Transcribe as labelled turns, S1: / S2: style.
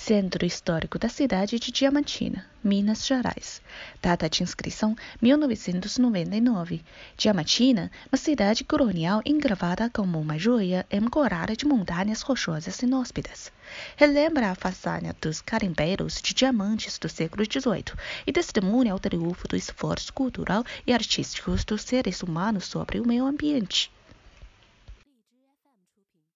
S1: Centro Histórico da cidade de Diamantina, Minas Gerais. Data de inscrição 1999. Diamantina, uma cidade colonial engravada como uma joia encorada de montanhas rochosas inóspitas. Relembra a façanha dos carimbeiros de diamantes do século XVIII e testemunha o triunfo do esforço cultural e artístico dos seres humanos sobre o meio ambiente.